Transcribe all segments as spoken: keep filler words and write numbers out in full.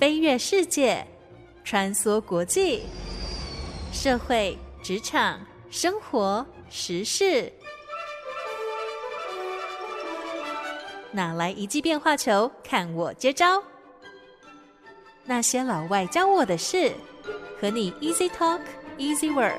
飛躍世界，穿梭國際，社會、職場、生活、時事，哪來一記變化球？看我接招！那些老外教我的事，和你 Easy Talk Easy Work。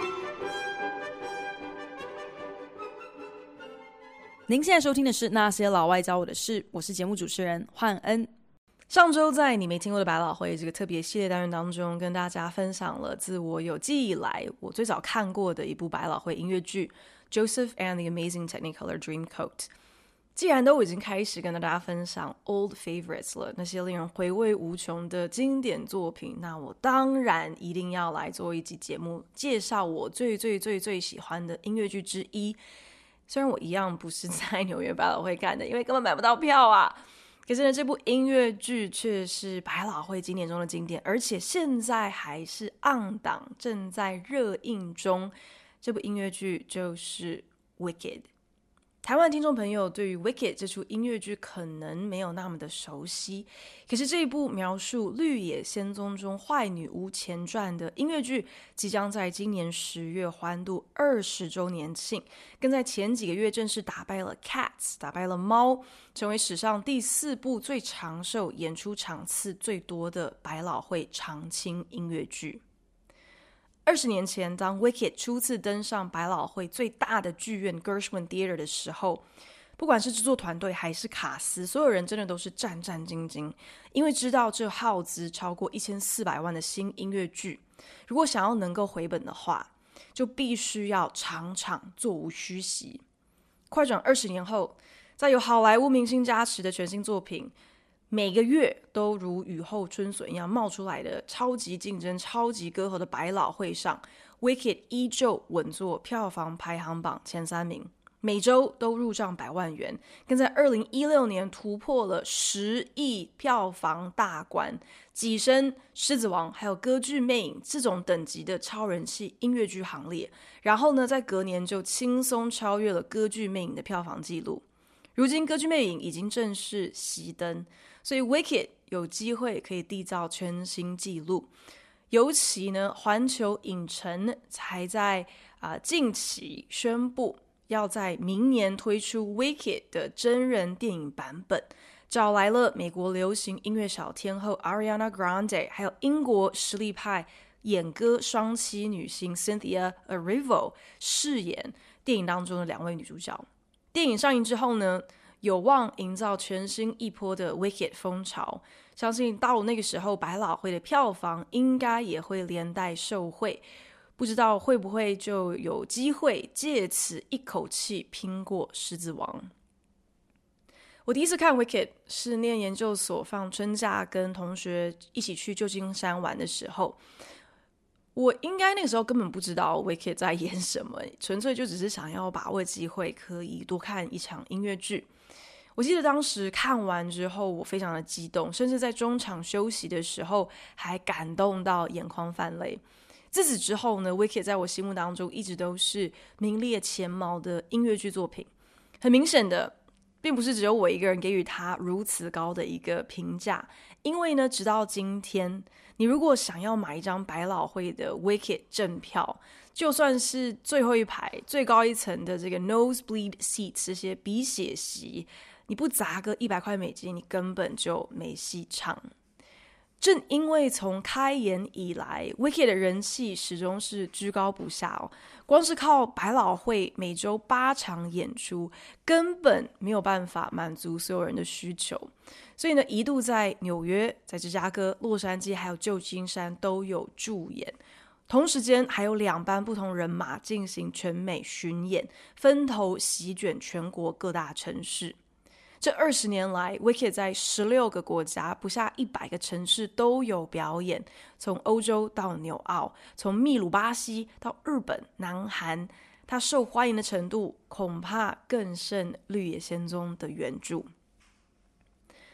您現在收聽的是《那些老外教我的事》，我是節目主持人煥恩。上周在你沒聽過的百老匯這個特別系列單元當中，跟大家分享了自我有記憶以來我最早看過的一部百老匯音樂劇《Joseph and the Amazing Technicolor Dreamcoat》。既然都已經開始跟大家分享 old favorites 了，那些令人回味無窮的經典作品，那我當然一定要來做一集節目，介紹我最最最最喜歡的音樂劇之一。雖然我一樣不是在紐約百老匯看的，因為根本買不到票啊。可是呢，這部音樂劇卻是百老匯經典中的經典，而且現在還是 on 檔，正在熱映中。這部音樂劇就是《Wicked》。台灣聽眾朋友對於《Wicked》這出音樂劇可能沒有那麼的熟悉，可是這一部描述綠野仙蹤中壞女巫前傳的音樂劇，即將在今年十月歡度二十週年慶，更在前幾個月正式打敗了《Cats》，打敗了貓，成為史上第四部最長壽、演出場次最多的百老匯長青音樂劇。二十年前，當 Wicked 初次登上百老匯最大的劇院 Gershwin Theater 的時候，不管是制作團隊還是卡司，所有人真的都是戰戰兢兢，因為知道這耗資超過一千四百萬的新音樂劇，如果想要能夠回本的話，就必須要場場座無虛席。快轉二十年後，在有好萊塢明星加持的全新作品，每個月都如雨後春筍一樣冒出來的超級競爭、超級歌喉的百老匯上， Wicked 依舊穩坐票房排行榜前三名，每周都入賬百萬元，更在二零一六年突破了十億票房大關，躋身獅子王還有歌劇魅影這種等級的超人氣音樂劇行列。然後呢，在隔年就輕鬆超越了歌劇魅影的票房紀錄。如今歌劇魅影已經正式熄燈，所以 Wicked 有機會可以締造全新紀錄。尤其呢，環球影城才在啊、呃、近期宣布要在明年推出 Wicked 的真人電影版本，找來了美國流行音樂小天后 Ariana Grande， 還有英國實力派演歌雙棲女星 Cynthia Erivo 飾演電影當中的兩位女主角。電影上映之後呢，有望營造全新一波的 Wicked 風潮，相信到了那個時候，百老匯的票房應該也會連帶受惠，不知道會不會就有機會借此一口氣拼過獅子王。我第一次看 Wicked 是念研究所放春假，跟同學一起去舊金山玩的時候。我應該那個時候根本不知道 Wicked 在演什麼，純粹就只是想要把握機會可以多看一場音樂劇。我記得當時看完之後我非常的激動，甚至在中場休息的時候還感動到眼眶泛淚。自此之後呢， Wicked 在我心目當中一直都是名列前茅的音樂劇作品。很明顯的，並不是只有我一個人給予它如此高的一個評價，因為呢，直到今天，你如果想要買一張百老匯的 Wicked 正票，就算是最後一排最高一層的這個 nosebleed seats 這些鼻血席，你不砸個一百塊美金，你根本就沒戲唱。正因為從開演以來 Wicked 的人氣始終是居高不下哦，光是靠百老匯每周八場演出根本沒有辦法滿足所有人的需求，所以呢，一度在紐約、在芝加哥、洛杉磯還有舊金山都有駐演，同時間還有兩班不同人馬進行全美巡演，分頭席捲全國各大城市。這二十年來 Wicked 在十六個國家不下一百個城市都有表演，從歐洲到紐澳，從秘魯巴西到日本南韓，它受歡迎的程度恐怕更勝綠野仙蹤的原著。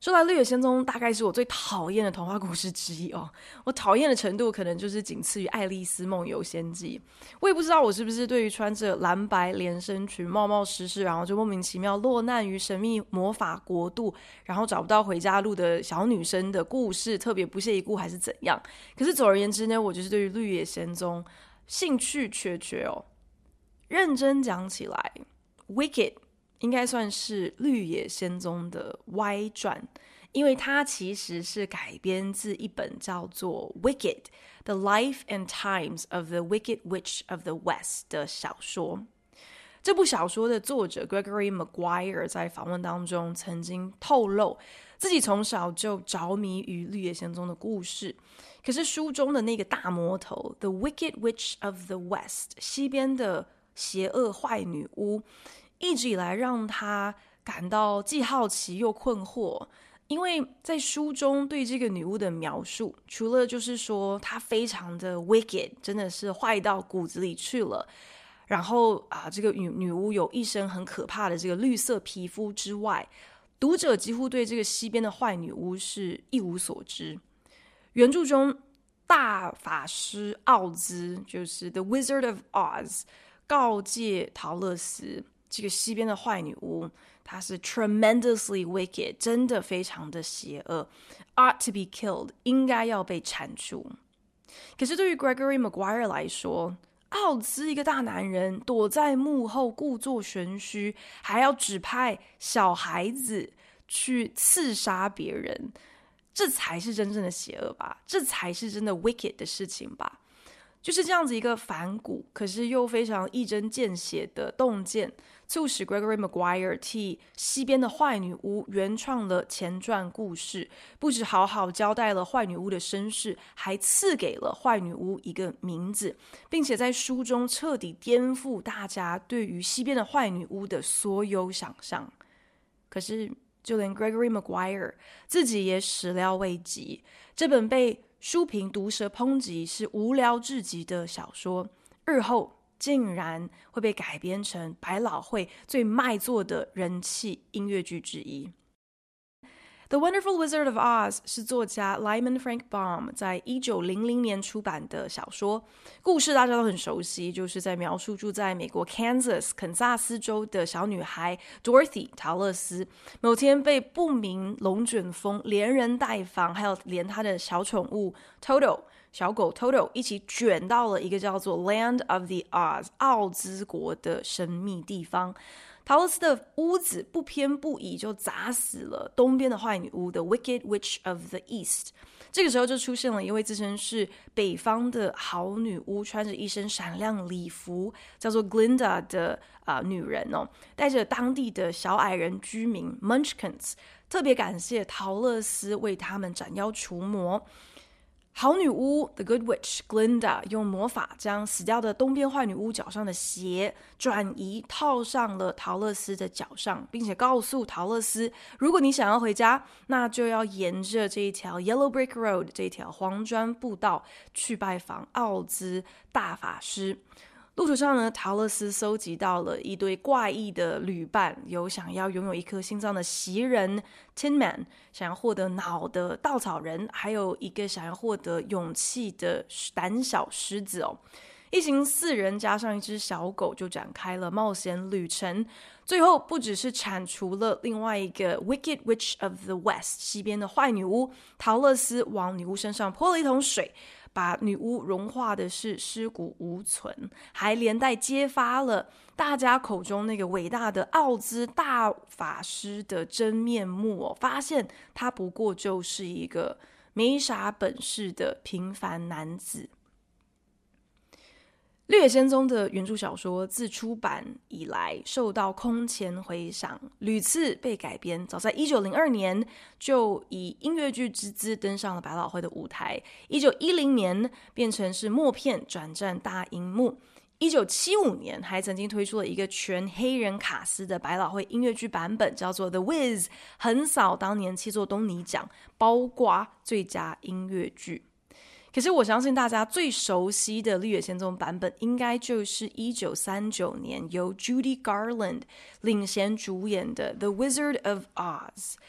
說來，《綠野仙蹤》大概是我最討厭的童話故事之一哦。我討厭的程度可能就是僅次於《愛麗絲夢遊仙境》。我也不知道我是不是對於穿着藍白連身裙、冒冒失失，然後就莫名其妙落難於神秘魔法國度，然後找不到回家路的小女生的故事特別不屑一顧，還是怎樣？可是總而言之呢，我就是對於《綠野仙蹤》興趣缺缺哦。認真講起來，《Wicked》應該算是《綠野仙蹤》的歪傳，因為它其實是改編自一本叫做《Wicked: The Life and Times of the Wicked Witch of the West》的小說。這部小說的作者 Gregory Maguire 在訪問當中曾經透露，自己從小就着迷於綠野仙蹤的故事。可是書中的那個大魔頭 The Wicked Witch of the West 西邊的邪惡壞女巫，一直以來讓他感到既好奇又困惑，因為在書中對這個女巫的描述，除了就是說她非常的 wicked， 真的是壞到骨子裡去了，然後啊，這個女女巫有一身很可怕的這個綠色皮膚之外，讀者幾乎對這個西邊的壞女巫是一無所知。原著中大法師奧茲就是 The Wizard of Oz 告誡桃樂絲，這個西邊的壞女巫，她是 tremendously wicked， 真的非常的邪惡 ought to be killed， 應該要被鏟除。可是對於 Gregory Maguire 來說，奧茲一個大男人躲在幕後故作玄虛，還要指派小孩子去刺殺別人，這才是真正的邪惡吧，這才是真的 wicked 的事情吧。就是這樣子一個反骨，可是又非常一針見血的洞見，促使 Gregory Maguire 替西邊的壞女巫原創了前傳故事，不只好好交代了壞女巫的身世，還賜給了壞女巫一個名字，並且在書中徹底顛覆大家對於西邊的壞女巫的所有想象。可是就連 Gregory Maguire 自己也始料未及，這本被書評毒舌抨擊是無聊至極的小說，日後竟然會被改編成百老匯最賣座的人氣音樂劇之一。The Wonderful Wizard of Oz 是作家 Lyman Frank Baum 在一九零零年出版的小說，故事大家都很熟悉，就是在描述住在美國 Kansas 肯薩斯州的小女孩 Dorothy 桃樂絲，某天被不明龍捲風連人帶房，還有連她的小寵物 Toto 小狗 Toto 一起捲到了一個叫做 Land of the Oz 奧茲國的神秘地方。桃樂絲的屋子不偏不倚就砸死了東邊的壞女巫 The Wicked Witch of the East。 這個時候就出現了一位自稱是北方的好女巫，穿着一身閃亮禮服叫做 Glinda 的、呃、女人哦，帶着當地的小矮人居民 Munchkins， 特別感謝桃樂絲為他們斬妖除魔。好女巫 The Good Witch Glinda 用魔法將死掉的東邊壞女巫腳上的鞋轉移套上了桃樂絲的腳上，並且告訴桃樂絲，如果你想要回家，那就要沿着這一條 Yellow Brick Road 這條黃磚步道去拜訪奧茲大法師。路途上呢，桃樂絲搜集到了一堆怪異的旅伴，有想要擁有一顆心臟的襲人 Tin Man， 想要獲得腦的稻草人，還有一個想要獲得勇氣的膽小獅子哦。一行四人加上一隻小狗就展開了冒險旅程，最後不只是鏟除了另外一個 Wicked Witch of the West 西邊的壞女巫，桃樂絲往女巫身上潑了一桶水，把女巫融化的是屍骨無存，還連帶揭發了大家口中那個偉大的奧茲大法師的真面目哦，發現他不過就是一個沒啥本事的平凡男子。《綠野仙蹤》的原著小說自出版以來受到空前回響，屢次被改編。早在一九零二年就以音樂劇之姿登上了百老匯的舞台，一九一零年變成是默片轉戰大熒幕，一九七五年還曾經推出了一個全黑人卡司的百老匯音樂劇版本，叫做 The Wiz， 橫掃當年七座東尼獎，包括最佳音樂劇。可是我相信大家最熟悉的《綠野仙蹤》版本，應該就是一九三九年由 Judy Garland 領銜主演的《The Wizard of Oz》。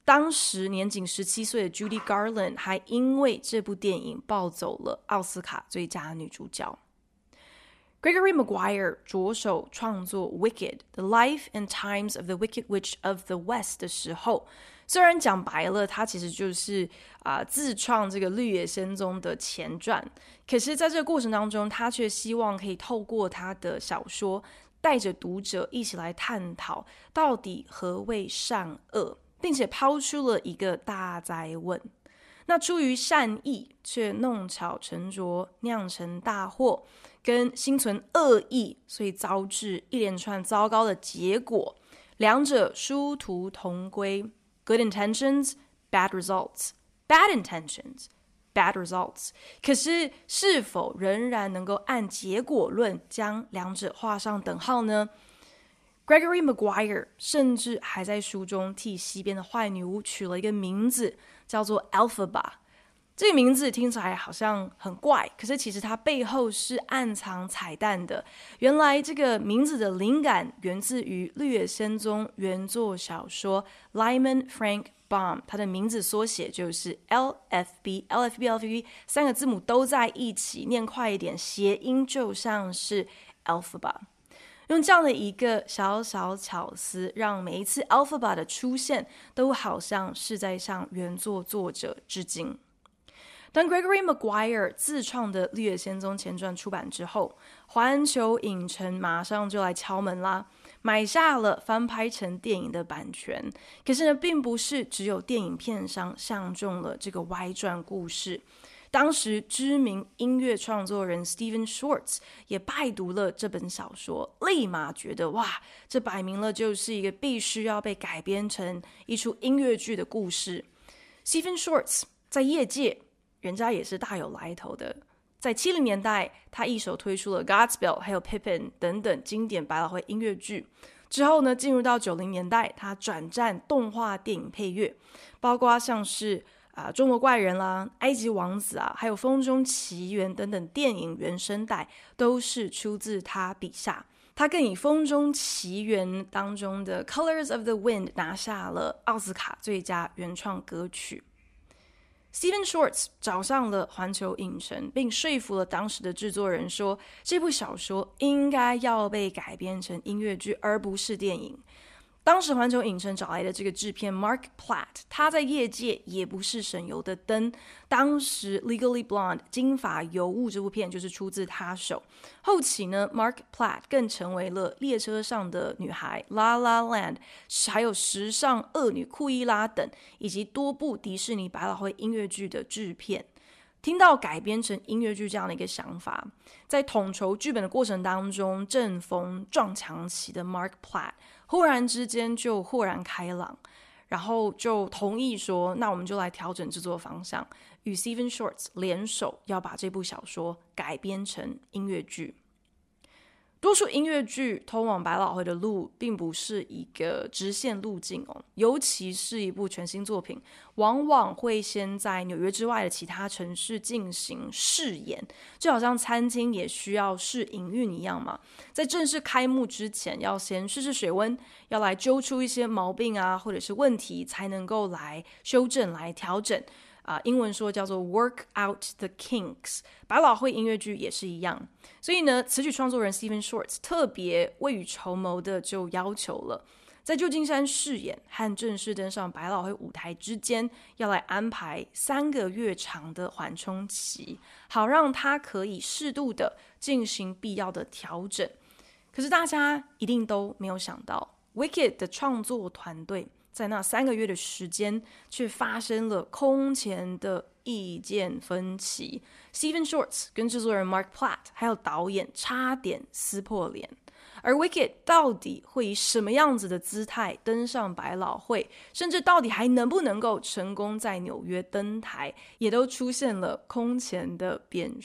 當時年僅十七歲的 Judy Garland 還因為這部電影抱走了奧斯卡最佳女主角。Gregory Maguire 着手創作 Wicked, The Life and Times of the Wicked Witch of the West 的時候，雖然講白了，他其實就是啊、呃、自創這個綠野仙蹤的前傳，可是在這個過程當中，他卻希望可以透過他的小說，帶着讀者一起來探討到底何謂善惡，並且拋出了一個大哉問。那出於善意卻弄巧成拙，釀成大禍，跟心存惡意，所以遭致一連串糟糕的結果，兩者殊途同歸。Good intentions, bad results. Bad intentions, bad results. 可是是否仍然能夠按結果論將兩者畫上等號呢？ Gregory Maguire 甚至還在書中替西邊的壞女巫取了一個名字，叫做 Elphaba。這個名字聽起來好像很怪，可是其實它背後是暗藏彩蛋的。原來這個名字的靈感源自於《綠野仙蹤》原作小說 Lyman Frank Baum， 它的名字縮寫就是 L F B，L F B L F B 三個字母都在一起，念快一點，諧音就像是 Elphaba。用這樣的一個小小巧思，讓每一次 Elphaba 的出現都好像是在向原作作者致敬。當 Gregory Maguire 自創的《綠野仙蹤》前傳出版之後，環球影城馬上就來敲門啦，買下了翻拍成電影的版權。可是呢，並不是只有電影片商相中了這個外傳故事，當時知名音樂創作人 Stephen Schwartz 也拜讀了這本小說，立馬覺得哇，這擺明了就是一個必須要被改編成一出音樂劇的故事。Stephen Schwartz 在業界人家也是大有來頭的，在七零年代，他一手推出了《Godspell》還有《Pippin》等等經典百老匯音樂劇。之後呢，進入到九零年代，他轉戰動畫電影配樂，包括像是啊、呃《中國怪人》啦、《埃及王子》啊，還有《風中奇緣》等等電影原聲帶，都是出自他筆下。他更以《風中奇緣》當中的《Colors of the Wind》拿下了奧斯卡最佳原創歌曲。Stephen Schwartz 找上了環球影城，並說服了當時的制作人說，這部小說應該要被改編成音樂劇，而不是電影。當時環球影城找來的這個制片 Mark Platt， 他在業界也不是省油的燈。當時 Legally Blonde 金髮尤物這部片就是出自他手。後期呢 Mark Platt 更成為了列車上的女孩 La La Land， 還有時尚惡女庫伊拉等，以及多部迪士尼百老匯音樂劇的制片。聽到改編成音樂劇這樣的一個想法，在統籌劇本的過程當中，正逢撞牆期的 Mark Platt 忽然之間就豁然開朗，然後就同意說，那我們就來調整制作方向，與 Stephen Schwartz 聯手要把這部小說改編成音樂劇。多數音樂劇通往百老匯的路並不是一個直線路徑哦，尤其是一部全新作品，往往會先在紐約之外的其他城市進行試演，就好像餐廳也需要試營運一樣嘛。在正式開幕之前，要先試試水溫，要來揪出一些毛病啊，或者是問題，才能夠來修正、來調整。啊、呃，英文說叫做 work out the kinks， 百老匯音樂劇也是一樣。所以呢，詞曲創作人 Stephen Schwartz 特別未雨綢繆的就要求了，在舊金山試演和正式登上百老匯舞台之間，要來安排三個月長的緩衝期，好讓他可以適度的進行必要的調整。可是大家一定都沒有想到 ，Wicked 的創作團隊在那三個月的時間，卻發生了空前的意見分歧。Stephen Schwartz 跟製作人 Mark Platt 還有導演差點撕破臉。而 Wicked 到底會以什麼樣子的姿態登上百老匯，甚至到底還能不能夠成功在紐約登台，也都出現了空前的變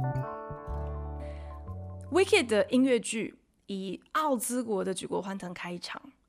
數。Wicked 的音樂劇以奧茲國的舉國歡騰開場，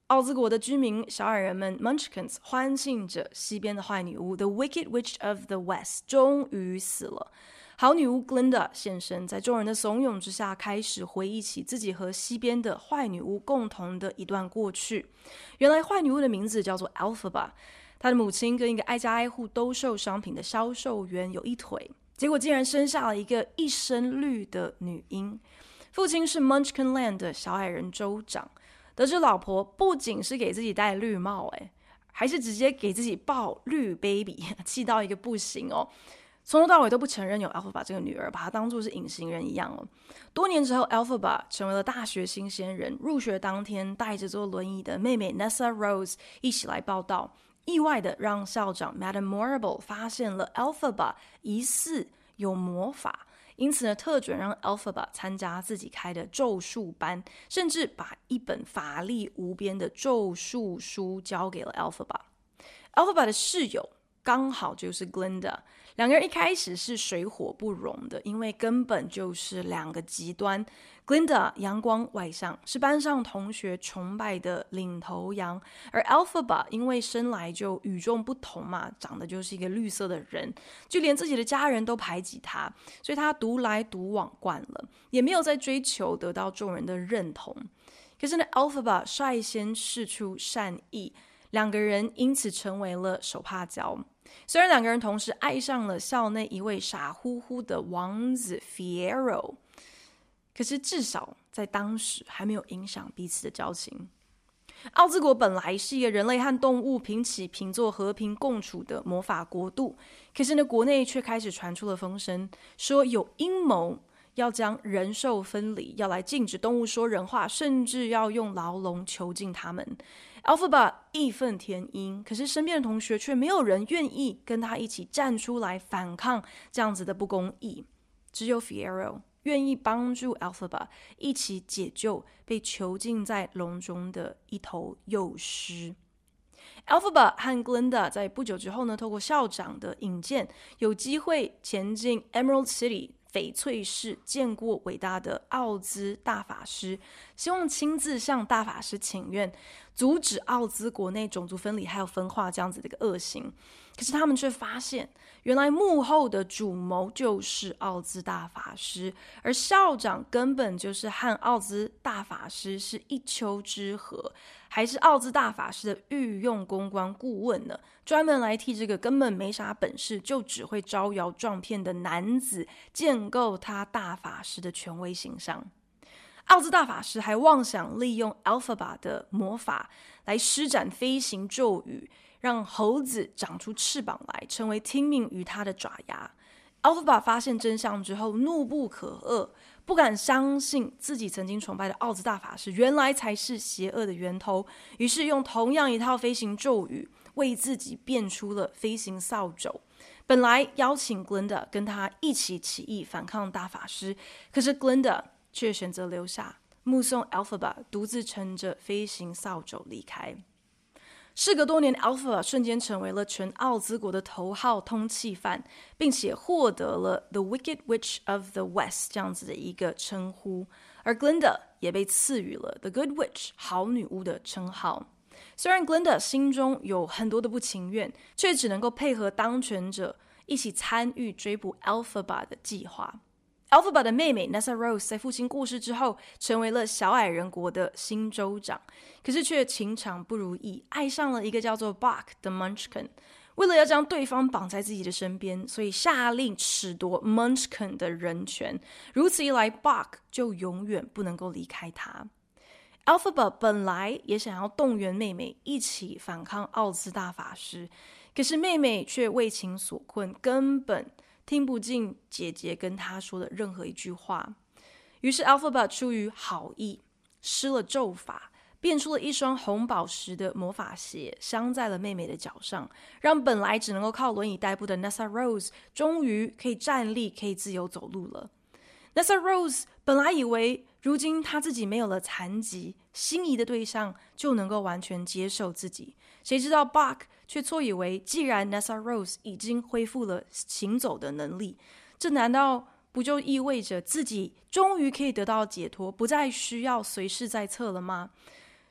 奧茲國的居民小矮人們 Munchkins 歡慶着西邊的壞女巫 The Wicked Witch of the West 終於死了。好女巫 Glinda 現身，在眾人的慫恿之下，開始回憶起自己和西邊的壞女巫共同的一段過去。原來壞女巫的名字叫做 Elphaba， 她的母親跟一個挨家挨戶兜售商品的銷售員有一腿，結果竟然生下了一個一身綠的女嬰。父親是 Munchkin Land 的小矮人州長，得知老婆不僅是給自己戴綠帽，誒，還是直接給自己抱綠 baby， 氣到一個不行哦。從頭到尾都不承認有 Elphaba 這個女兒，把她當作是隱形人一樣哦。多年之後 Elphaba 成為了大學新鮮人，入學當天帶着坐輪椅的妹妹 Nessa Rose 一起來報到，意外的讓校長 Madame Morrible 發現了 Elphaba 疑似有魔法，因此呢，特准讓 Elphaba 參加自己開的咒術班，甚至把一本法力無邊的咒術書交給了 Elphaba。Elphaba 的室友剛好就是 Glinda， 兩個人一開始是水火不容的，因為根本就是兩個極端。Glinda 陽光外向，是班上同學崇拜的領頭羊，而 Elphaba 因為生來就與眾不同嘛，長得就是一個綠色的人，就連自己的家人都排擠他，所以他獨來獨往慣了，也沒有在追求得到眾人的認同。可是呢 Elphaba 率先釋出善意，兩個人因此成為了手帕交。雖然兩個人同時愛上了校內一位傻乎乎的王子 Fiyero， 可是至少在當時還沒有影響彼此的交情。奧茲國本來是一個人類和動物平起平坐、和平共處的魔法國度，可是呢，國內卻開始傳出了風聲，說有陰謀要將人獸分離，要來禁止動物說人話，甚至要用牢籠囚禁他們。Elphaba 義憤填膺，可是身邊的同學卻沒有人願意跟他一起站出來反抗這樣子的不公義。只有 Fiyero 願意幫助 Elphaba 一起解救被囚禁在籠中的一頭幼獅。Elphaba 和 Glinda 在不久之後呢，透過校長的引薦，有機會前進 Emerald City翡翠市，見過偉大的奧茲大法師，希望親自向大法師請願，阻止奧茲國內種族分離還有分化這樣子的一個惡行。可是他們卻發現，原來幕後的主謀就是奧茲大法師，而校長根本就是和奧茲大法師是一丘之貉，還是奧茲大法師的御用公關顧問呢，專門來替這個根本沒啥本事就只會招搖撞騙的男子建構他大法師的權威形象。奧茲大法師還妄想利用 Elphaba 的魔法來施展飛行咒語，讓猴子長出翅膀來，成為聽命於他的爪牙。Elphaba 發現真相之後，怒不可遏，不敢相信自己曾經崇拜的奧茲大法師原來才是邪惡的源頭，於是用同樣一套飛行咒語，為自己變出了飛行掃帚。本來邀請 Glinda 跟他一起起義反抗大法師，可是 Glinda 卻選擇留下，目送 Elphaba 獨自乘着飛行掃帚離開。事隔多年 Elphaba 瞬間成為了全奧茲國的頭號通緝犯，並且獲得了 The Wicked Witch of the West 這樣子的一個稱呼，而 Glinda 也被賜予了 The Good Witch 好女巫的稱號。雖然 Glinda 心中有很多的不情願，卻只能夠配合當權者一起參與追捕 Elphaba 的計劃。Elphaba 的妹妹 Nessa Rose 在父親過世之後，成為了小矮人國的新州長，可是卻情場不如意，愛上了一個叫做 Boq 的 Munchkin。為了要將對方綁在自己的身邊，所以下令褫奪 Munchkin 的人權。如此一來 Boq 就永遠不能夠離開他。Elphaba 本來也想要動員妹妹一起反抗奧茲大法師，可是妹妹卻為情所困，根本聽不進姐姐跟她說的任何一句話。於是 Elphaba 出於好意，施了咒法，變出了一雙紅寶石的魔法鞋，鑲在了妹妹的腳上，讓本來只能夠靠輪椅代步的 Nessa Rose 終於可以站立，可以自由走路了。Nessa Rose 本來以為如今她自己沒有了殘疾，心儀的對象就能夠完全接受自己，誰知道 Boq 卻錯以為既然 Nessa Rose 已經恢復了行走的能力，這難道不就意味着自己終於可以得到解脫，不再需要隨侍在側了嗎？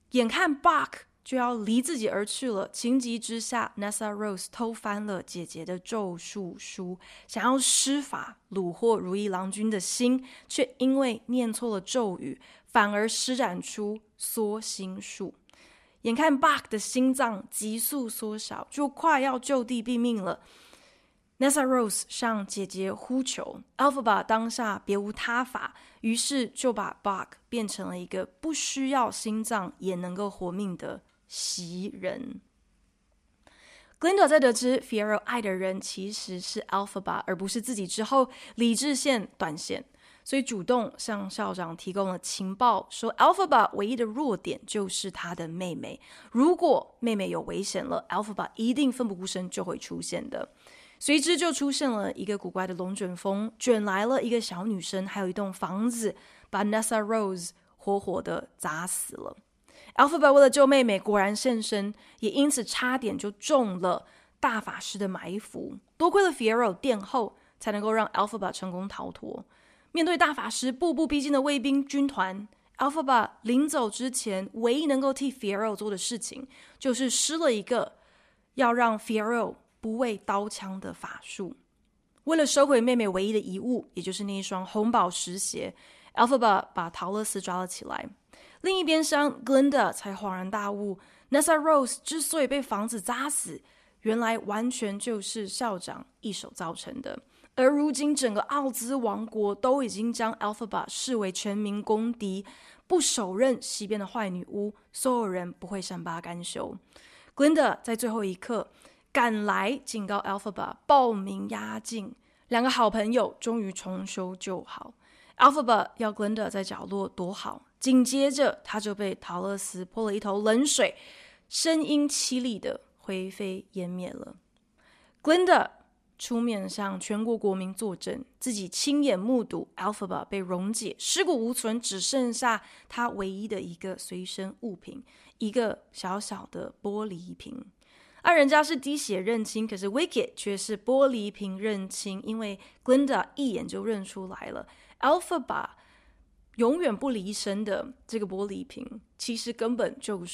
眼看 Bach 就要離自己而去了，情急之下 Nessa Rose 偷翻了姐姐的咒術書，想要施法虜獲如意郎君的心，卻因為念錯了咒語，反而施展出縮心術。眼看 Bach 的心臟急速縮小，就快要就地斃命了。Nessa Rose 向姐姐呼求 ，Elphaba 當下別無他法，於是就把 Bach 變成了一個不需要心臟也能夠活命的襲人。Glinda 在得知 Fiyero 愛的人其實是 Elphaba 而不是自己之後，理智線斷線，所以主動向校長提供了情報，說 Elphaba 唯一的弱點就是她的妹妹，如果妹妹有危險了 ，Elphaba 一定奮不顧身就會出現的。隨之就出現了一個古怪的龍捲風，捲來了一個小女生，還有一棟房子，把 Nessa Rose 活活的砸死了。Elphaba 為了救妹妹，果然現身，也因此差點就中了大法師的埋伏。多虧了 Fiyero 殿後，才能夠讓 Elphaba 成功逃脫。面對大法師步步逼近的衛兵軍團， Elphaba 臨走之前，唯一能夠替 Fiyero 做的事情，就是施了一個要讓 Fiyero不畏刀槍的法術。為了收回妹妹唯一的遺物，也就是那一雙紅寶石鞋， Elphaba 把桃樂絲抓了起來。另一邊廂 Glinda 才恍然大悟， Nessa Rose 之所以被房子砸死，原來完全就是校長一手造成的。而如今整個奧茲王國都已經將 Elphaba 視為全民公敵，不手刃西邊的壞女巫，所有人不會善罷甘休。 Glinda 在最後一刻趕來警告 Elphaba 報名壓境，兩個好朋友終於重修舊好。Elphaba 要 Glinda 在角落躲好，緊接着他就被桃樂絲潑了一頭冷水，聲音淒厲的灰飛煙滅了。Glinda 出面向全國國民作證，自己親眼目睹 Elphaba 被溶解，屍骨無存，只剩下他唯一的一個隨身物品，一個小小的玻璃瓶。而、啊、人家是滴血認親，可是 Wicked 卻是玻璃瓶認親，因為 Glinda 一眼就認出來了 Elphaba 永遠不離身的這個玻璃瓶，其實根本就是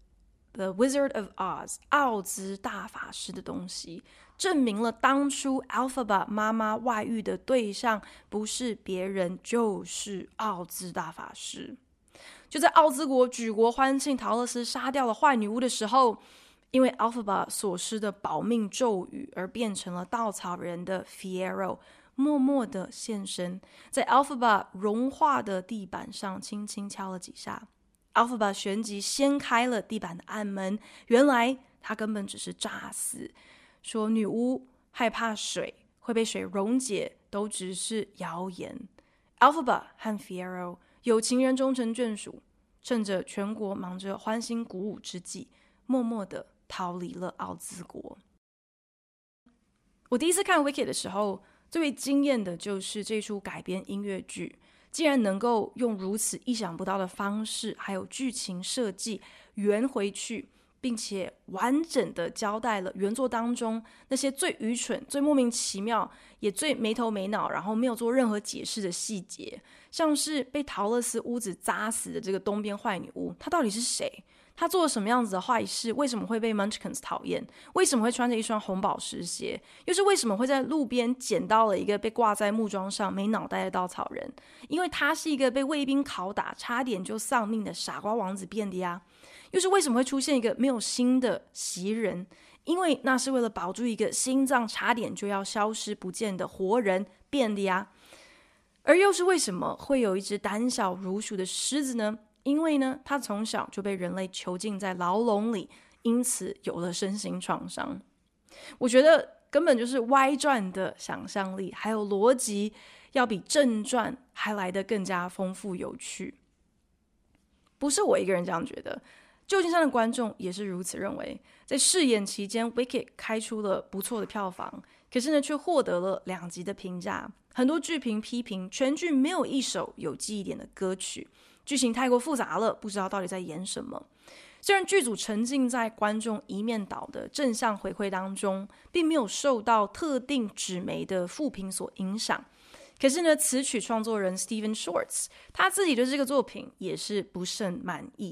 The Wizard of Oz 奧茲大法師的東西，證明了當初 Elphaba 媽媽外遇的對象不是別人，就是奧茲大法師。就在奧茲國舉國歡慶桃樂絲殺掉了壞女巫的時候，因為 Elphaba 所施的保命咒語而變成了稻草人的 Fiyero 默默的現身，在 Elphaba 融化的地板上輕輕敲了幾下。Elphaba 旋即掀開了地板的暗門，原來他根本只是詐死，說女巫害怕水會被水溶解都只是謠言。Elphaba 和 Fiyero 有情人終成眷屬，趁着全國忙着歡欣鼓舞之際，默默的逃離了奧茲國。我第一次看 Wicked 的時候，最為驚豔的就是這出改編音樂劇竟然能夠用如此意想不到的方式還有劇情設計圓回去，並且完整的交代了原作當中那些最愚蠢、最莫名其妙也最沒頭沒腦，然後沒有做任何解釋的細節，像是被桃樂絲屋子砸死的這個東邊壞女巫，她到底是誰？他做了什麼樣子的壞事？為什麼會被 Munchkins 討厭？為什麼會穿着一雙紅寶石鞋？又是為什麼會在路邊撿到了一個被掛在木樁上沒腦袋的稻草人？因為他是一個被衛兵拷打差點就喪命的傻瓜王子變的呀。又是為什麼會出現一個沒有心的襲人？因為那是為了保住一個心臟差點就要消失不見的活人變的呀。而又是為什麼會有一隻膽小如鼠的獅子呢？因為呢，他從小就被人類囚禁在牢籠裡，因此有了身心創傷。我覺得根本就是歪傳的想象力還有邏輯，要比正傳還來得更加豐富有趣。不是我一個人這樣覺得，舊金山的觀眾也是如此認為。在試演期間 Wicked 開出了不錯的票房，可是呢，卻獲得了兩極的評價。很多劇評批評全劇沒有一首有記憶點的歌曲，劇情太過複雜了，不知道到底在演什麼。雖然劇組沉浸在觀眾一面倒的正向回饋當中，並沒有受到特定紙媒的負評所影響，可是呢，詞曲創作人 Stephen Schwartz 他自己對這個作品也是不甚滿意。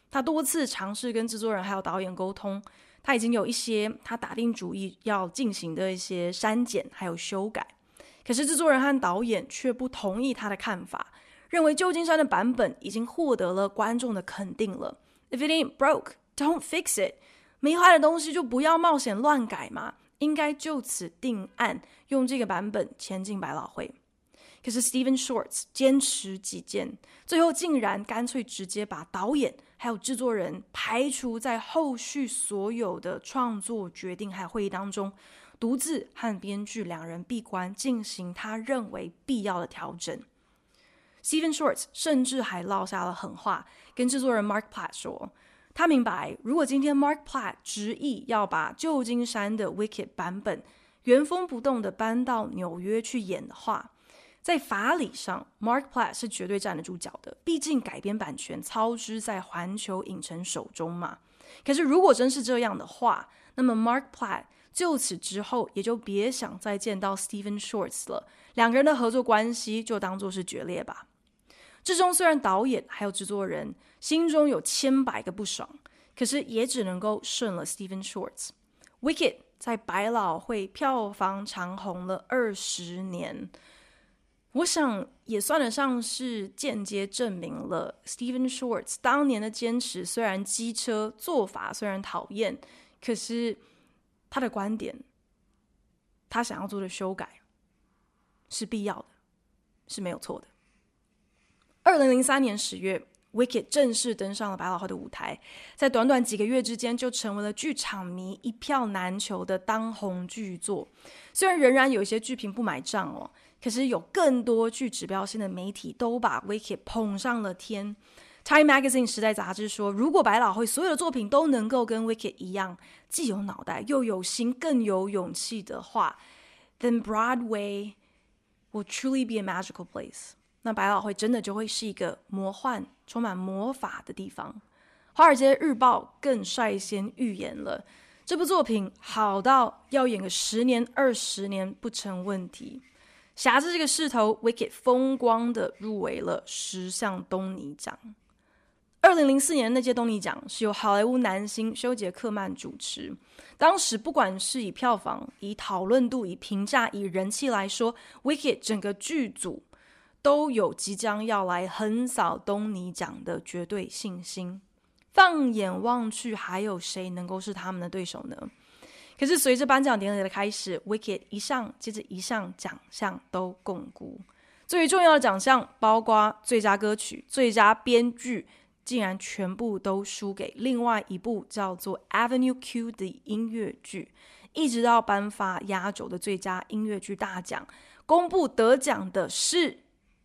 他多次嘗試跟制作人還有導演溝通，他已經有一些他打定主意要進行的一些刪減還有修改，可是制作人和導演卻不同意他的看法，認為舊金山的版本已經獲得了觀眾的肯定了。If it ain't broke, don't fix it. 沒壞的東西就不要冒險亂改嘛，應該就此定案，用這個版本前進百老匯。可是 Stephen Schwartz 堅持己見，最後竟然乾脆直接把導演還有制作人排除在後續所有的創作決定還有會議當中，獨自和編劇兩人閉關進行他認為必要的調整。Stephen Schwartz 甚至還落下了狠話，跟制作人 Mark Platt 說，他明白如果今天 Mark Platt 執意要把舊金山的 Wicked 版本原封不動的搬到紐約去演的話，在法理上 Mark Platt 是絕對站得住腳的，畢竟改編版權操之在環球影城手中嘛。可是如果真是這樣的話，那麼 Mark Platt 就此之後也就別想再見到 Stephen Schwartz 了，兩個人的合作關係就當作是決裂吧。之中雖然導演還有制作人心中有千百個不爽，可是也只能夠順了 Stephen Schwartz。Wicked 在百老匯票房長紅了二十年，我想也算得上是間接證明了 Stephen Schwartz 當年的堅持雖然機車，做法雖然討厭，可是他的觀點，他想要做的修改是必要的，是沒有錯的。二零零三年十月 Wicked 正式登上了百老匯的舞台，在短短幾個月之間就成為了劇場迷一票難求的當紅劇作。雖然仍然有一些劇評不買賬哦，可是有更多具指標性的媒體都把 Wicked 捧上了天。Time Magazine 時代雜誌說，如果百老匯所有的作品都能夠跟 Wicked 一樣，既有腦袋又有心更有勇氣的話， then Broadway will truly be a magical place。那百老匯真的就會是一個魔幻、充滿魔法的地方。華爾街日報更率先預言了，這部作品好到要演個十年、二十年不成問題。挾着這個勢頭 ，Wicked 風光的入圍了十項東尼獎。二零零四年那屆東尼獎是由好萊塢男星休傑克曼主持。當時不管是以票房、以討論度、以評價、以人氣來說 ，Wicked 整個劇組都有即將要來橫掃東尼獎的絕對信心。放眼望去，還有誰能夠是他們的對手呢？可是隨着頒獎典禮的開始 ，Wicked 一項接着一項獎項都摃龜。最為重要的獎項包括最佳歌曲、最佳編劇，竟然全部都輸給另外一部叫做 Avenue Q 的音樂劇。一直到頒發壓軸的最佳音樂劇大獎，公布得獎的是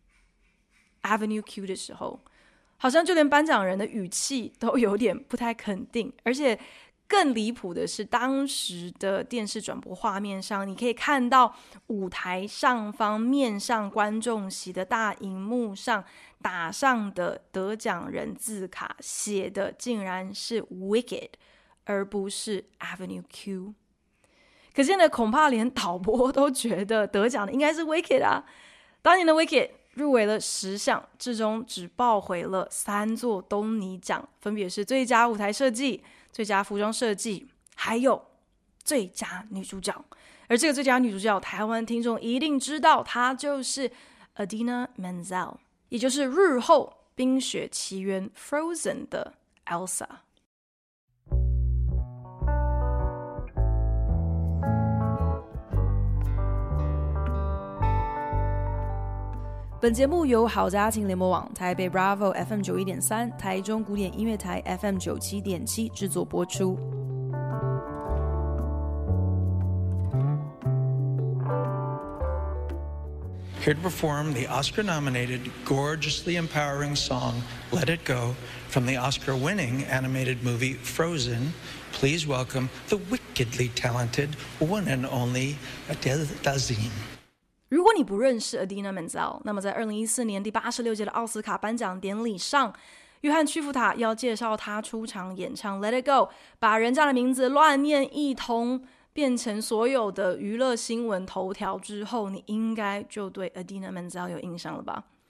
Avenue Q 的時候，好像就連頒獎人的語氣都有點不太肯定，而且更離譜的是，當時的電視轉播畫面上，你可以看到舞台上方面向觀眾席的大熒幕上打上的得獎人字卡，寫的竟然是 Wicked 而不是 Avenue Q。 可見的恐怕連導播都覺得得獎的應該是 Wicked 啊。當年的 Wicked入圍了十項，至終只抱回了三座東尼獎，分別是最佳舞台設計、最佳服裝設計，還有最佳女主角。而這個最佳女主角，台灣聽眾一定知道，她就是 Idina Menzel， 也就是日後《冰雪奇緣》Frozen 的 Elsa。本節目由好家庭聯播網、台北 Bravo F M 九一點三、台中古典音樂台 F M 九七點七製作播出。 Here to perform the Oscar-nominated, gorgeously empowering song "Let It Go" from the Oscar-winning animated movie Frozen, please welcome the wickedly talented one and only Adele Dazeem。 如果你不認識 Idina Menzel， 那麼在二零一四年第八十六屆的奧斯卡頒獎典禮上，約翰屈服塔要介紹他出場演唱 Let It Go， 把人家的名字亂念一通，變成所有的娛樂新聞頭條之後，你應該就對 Idina Menzel 有印象了吧？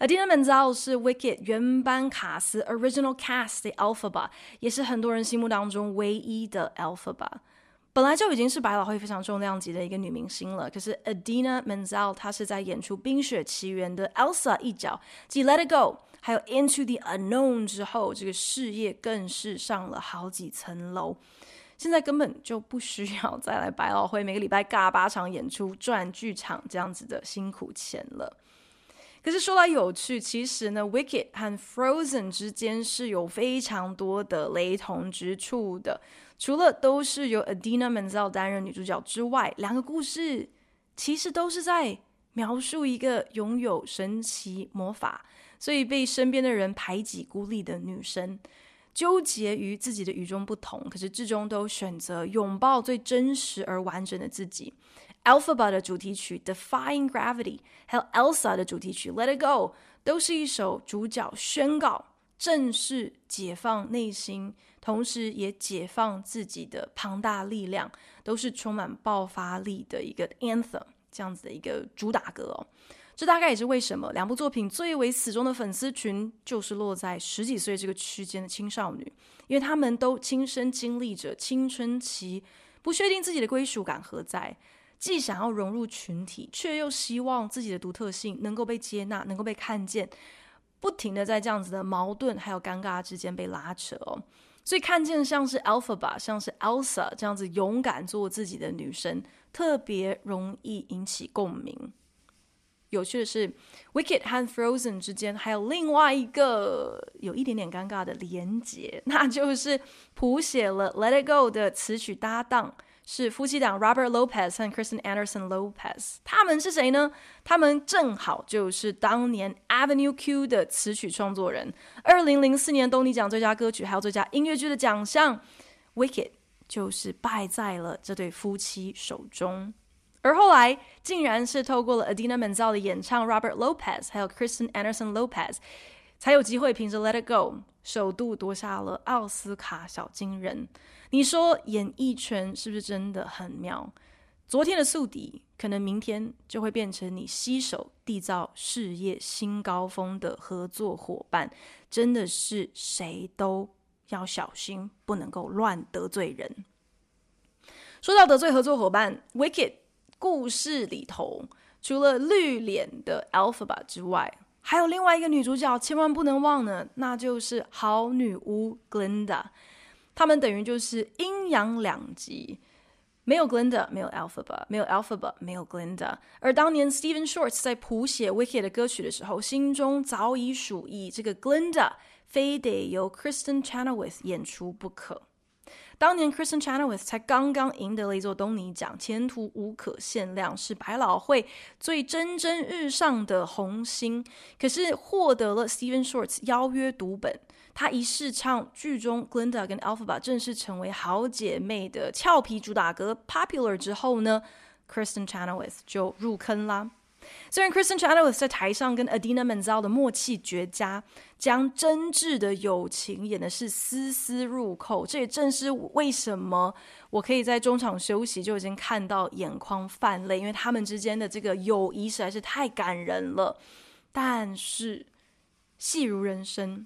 Idina Menzel 是 Wicked 原班卡司 Original Cast 的 Elphaba， 也是很多人心目當中唯一的 Elphaba。本來就已經是百老匯非常重量級的一個女明星了，可是 Idina Menzel 她是在演出《冰雪奇緣》的 Elsa 一角，繼 Let It Go 還有 Into the Unknown 之後，這個事業更是上了好幾層樓。現在根本就不需要再來百老匯每個禮拜尬八場演出賺劇場這樣子的辛苦錢了。可是說來有趣，其實呢 Wicked 和 Frozen 之間是有非常多的雷同之處的。除了都是由 Idina Menzel 擔任女主角之外，兩個故事其實都是在描述一個擁有神奇魔法，所以被身邊的人排擠孤立的女生，糾結於自己的與眾不同，可是至終都選擇擁抱最真實而完整的自己。Elphaba 的主題曲 Defying Gravity 還有 Elsa 的主題曲 Let It Go 都是一首主角宣告正式解放內心，同時也解放自己的龐大力量，都是充滿爆發力的一個 anthem， 這樣子的一個主打歌哦。這大概也是為什麼兩部作品最為死忠的粉絲群就是落在十幾歲這個區間的青少女，因為他們都親身經歷着青春期，不確定自己的歸屬感何在，既想要融入群體，卻又希望自己的獨特性能夠被接納，能夠被看見，不停的在這樣子的矛盾還有尷尬之間被拉扯哦。所以看見像是 Elphaba 像是 Elsa 這樣子勇敢做自己的女生，特別容易引起共鳴。有趣的是 Wicked 和 Frozen 之間還有另外一個有一點點尷尬的連結，那就是譜寫了 Let It Go 的詞曲搭檔是夫妻檔 Robert Lopez 和 Kristen Anderson Lopez。 他們是誰呢？他們正好就是當年 Avenue Q 的詞曲創作人，二零零四年東尼獎最佳歌曲還有最佳音樂劇的獎項 Wicked 就是敗在了這對夫妻手中。而後來竟然是透過了 Idina Menzel 的演唱 Robert Lopez 還有 Kristen Anderson Lopez 才有機會憑着 Let It Go 首度奪下了奧斯卡小金人。你說演藝圈是不是真的很妙？昨天的宿敵可能明天就會變成你攜手締造事業新高峰的合作夥伴，真的是誰都要小心，不能夠亂得罪人。說到得罪合作夥伴， Wicked故事裡頭除了綠臉的 Elphaba 之外，還有另外一個女主角千萬不能忘呢，那就是好女巫 Glinda。 他們等於就是陰陽兩極，沒有 Glinda 沒有 Elphaba， 沒有 Elphaba 沒有 Glinda。 而當年 Stephen Schwartz 在譜寫 Wicked 的歌曲的時候，心中早已屬意這個 Glinda 非得由 Kristen Chenoweth 演出不可。當年 Kristen Chenoweth 才剛剛贏得了一座東尼獎，前途無可限量，是百老匯最蒸蒸日上的紅星。可是獲得了 Stephen Schwartz 邀約讀本，他一試唱劇中 Glinda 跟 Elphaba 正式成為好姐妹的俏皮主打歌 Popular 之後呢， Kristen Chenoweth 就入坑啦。雖然 Kristen Chenoweth 在台上跟 Idina Menzel 的默契絕佳，將真摯的友情演的是絲絲入扣，這也正是為什麼我可以在中場休息就已經看到眼眶泛淚，因為他們之間的這個友誼實在是太感人了。但是戲如人生，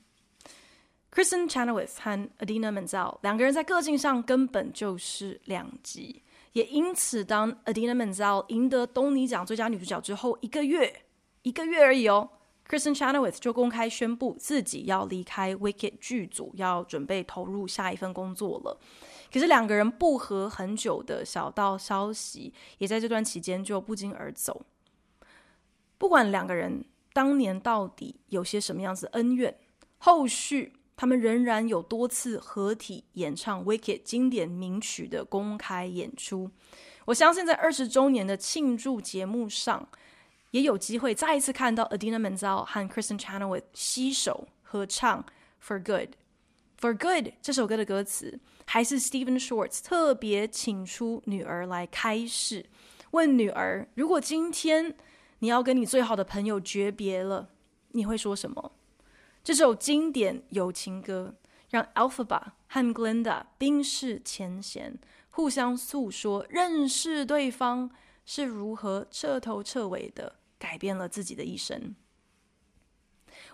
Kristen Chenoweth 和 Idina Menzel 兩個人在個性上根本就是兩極。也因此，當 Idina Menzel 贏得東尼獎最佳女主角之後，一個月，一個月而已哦 ，Kristen Chenoweth 就公開宣布自己要離開 Wicked 劇組，要準備投入下一份工作了。可是兩個人不和很久的小道消息，也在這段期間就不脛而走。不管兩個人當年到底有些什麼樣子恩怨，後續他們仍然有多次合體演唱 Wicked 經典名曲的公開演出。我相信在二十週年的慶祝節目上，也有機會再一次看到 Idina Menzel 和 Kristen Chenoweth 攜手合唱 For Good。For Good 這首歌的歌詞，還是 Stephen Schwartz 特別請出女兒來開示，問女兒，如果今天你要跟你最好的朋友訣別了，你會說什麼？這首經典友情歌讓 Elphaba 和 Glinda 冰釋前嫌，互相訴說認識對方是如何徹頭徹尾的改變了自己的一生。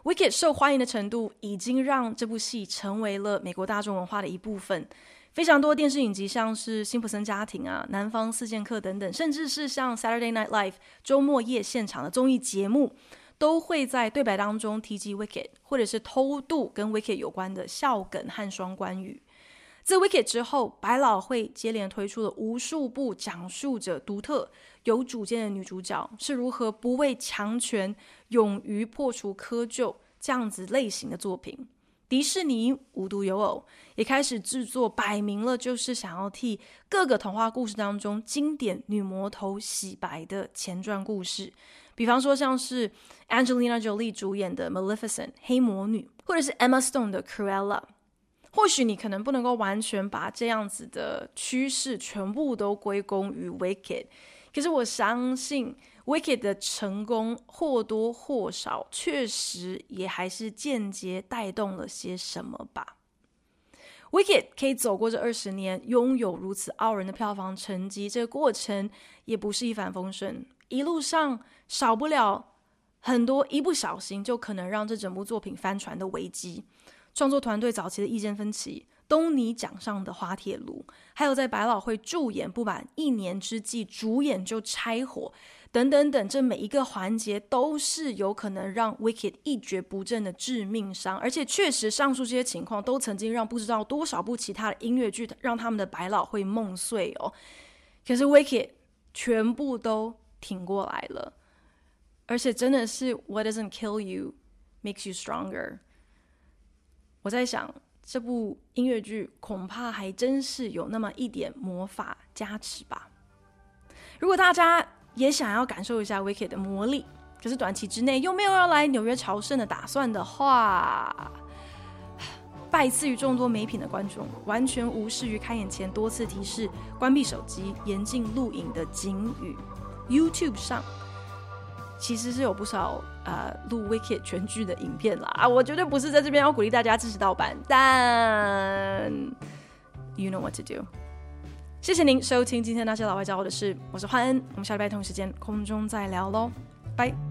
Wicked 受歡迎的程度已經讓這部戲成為了美國大眾文化的一部分。非常多電視影集，像是辛普森家庭啊、南方四劍客等等，甚至是像 Saturday Night Live 周末夜現場的綜藝節目，都會在對白當中提及 Wicked， 或者是偷渡跟 Wicked 有關的笑梗和雙關語。自 Wicked 之後，百老匯接連推出了無數部講述着獨特有主見的女主角是如何不畏強權、勇於破除窠臼這樣子類型的作品。迪士尼無獨有偶，也開始制作擺明了就是想要替各個童話故事當中經典女魔頭洗白的前傳故事，比方說像是 Angelina Jolie 主演的 Maleficent 黑魔女，或者是 Emma Stone 的 Cruella。或許你可能不能夠完全把這樣子的趨勢全部都歸功於 Wicked， 可是我相信 Wicked 的成功或多或少確實也還是間接帶動了些什麼吧。Wicked 可以走過這二十年，擁有如此傲人的票房成績，這個過程也不是一帆風順，一路上少不了很多一不小心就可能讓這整部作品翻船的危機。創作團隊早期的意見分歧，東尼獎上的滑鐵盧，還有在百老匯駐演不滿一年之際，主演就拆夥，等等等，這每一個環節都是有可能讓 Wicked 一蹶不振的致命傷。而且確實，上述這些情況都曾經讓不知道多少部其他的音樂劇讓他們的百老匯夢碎哦。可是 Wicked 全部都挺過來了，而且真的是 What doesn't kill you makes you stronger。我在想，這部音樂劇恐怕還真是有那麼一點魔法加持吧。如果大家也想要感受一下 Wicked 的魔力，可是短期之內又沒有要來紐約朝聖的打算的話，拜賜於眾多美品的觀眾，完全無視於開演前多次提示關閉手機、嚴禁錄影的警語。YouTube 上其實是有不少呃錄 Wicked 全劇的影片啦，啊，我絕對不是在這邊要鼓勵大家支持盜版，但 you know what to do。謝謝您收聽今天那些老外教我的事，我是煥恩，我們下禮拜同一時間空中再聊嘍，拜。